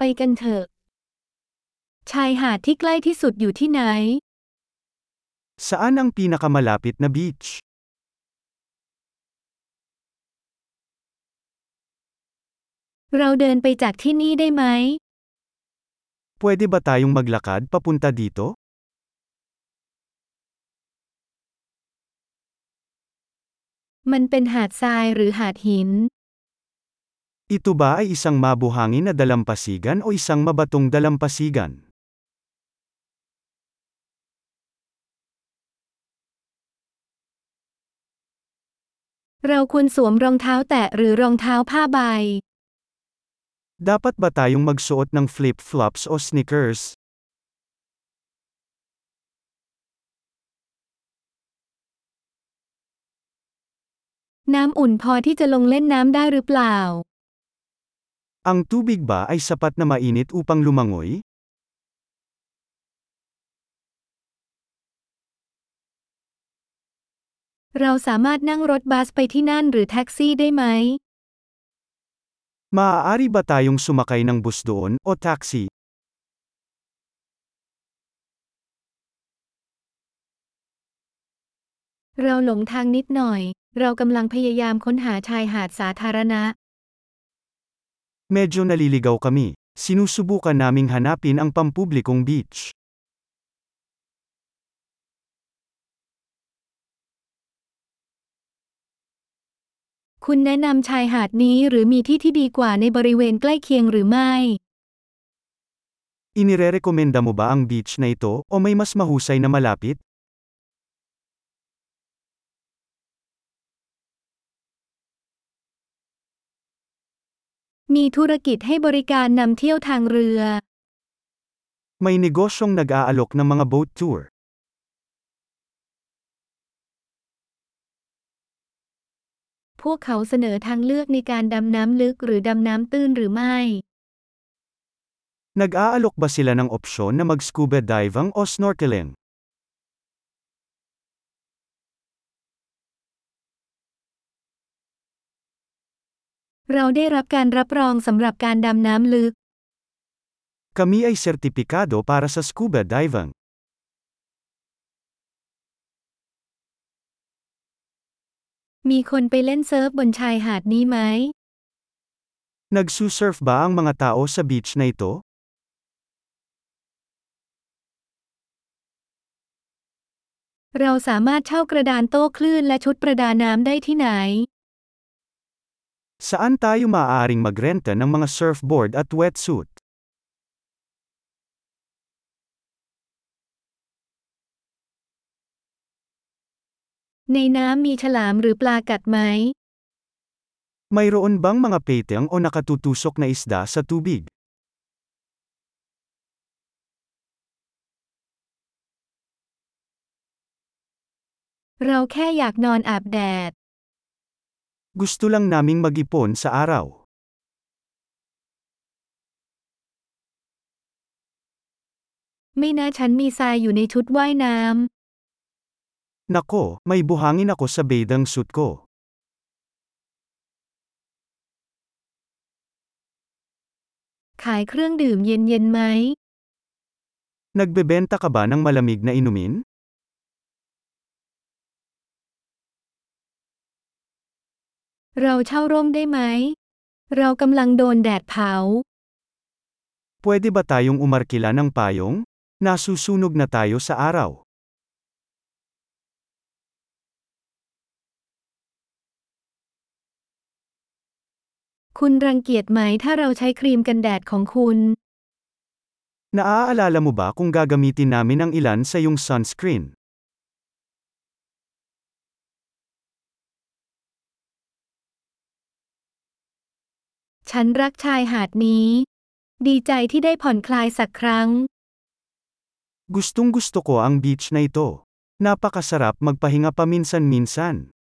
กันเถอะชายหาดที่ใกล้ที่สุดอยู่ที่ไหน Saan ang pinakamalapit na beach? เราเดินไปจากที่นี่ได้ไหม Pwede ba tayong maglakad papunta dito? มันเป็นหาดทรายหรือหาดหิน Ito ba ay isang mabuhangin na dalampasigan o isang mabatong dalampasigan? เราควรสวมรองเท้าแตะหรือรองเท้าผ้าใบ Dapat ba tayong magsuot ng flip-flops o sneakers? น้ำอุ่นพอที่จะลงเล่นน้ำได้หรือเปล่า Ang tubig ba ay sapat na mainit upang lumangoy? เราสามารถนั่งรถบัสไปที่นั่นหรือแท็กซี่ได้ไหม Maaari ba tayong sumakay ng bus doon o taxi? เราหลงทางนิดหน่อย เรากำลังพยายามค้นหาชายหาดสาธารณะ Medyo naliligaw kami. Sinusubukan naming hanapin ang pampublikong beach. คุณแนะนำชายหาดนี้หรือมีที่ที่ดีกว่าในบริเวณใกล้เคียงหรือไม่ Inirerekomenda mo ba ang beach na ito o may mas mahusay na malapit? มีธุรกิจให้บริการนำเที่ยวทางเรือ May negosyong nag-aalok ng mga boat tour. พวกเขาเสนอทางเลือกในการดำน้ำลึกหรือดำน้ำตื้นหรือไม่ Nag-aalok ba sila ng opsyon na mag-scuba diving o snorkeling? เราได้รับการรับรองสำหรับการดำน้ำลึก Kami ay sertipikado para sa scuba diving. มีคนไปเล่นเซิร์ฟบนชายหาดนี้ไหม Nagsusurf ba ang mga tao sa beach na ito? เราสามารถเช่ากระดานโต้คลื่นและชุดประดาน้ำได้ที่ไหน Saan tayo maaaring magrenta ng mga surfboard at wetsuit? ในน้ำมีฉลามหรือปลากัดไหม Mayroon bang mga peteng o nakatutusok na isda sa tubig? เราแค่อยากนอนอาบแดด Gusto lang naming mag-ipon sa araw. ไม่นะฉันมีทรายอยู่ในชุดว่ายน้ Nako, may buhangin ako sa bathing suit ko. ำขายเครื่องดื่มเย็นๆไหม Nagbebenta ka ba ng malamig na inumin? เราเช่าร่มได้ไหม เรากำลังโดนแดดเผา Pwede ba tayong umarkila ng payong? Nasusunog na tayo sa araw. คุณรังเกียจไหมถ้าเราใช้ครีมกันแดดของคุณ Naaalala mo ba kung gagamitin namin ang ilan sa iyong sunscreen? ฉันรักชายหาดนี้ ดีใจที่ได้ผ่อนคลายสักครั้ง Gustong-gusto ko ang beach na ito. Napakasarap magpahinga paminsan-minsan.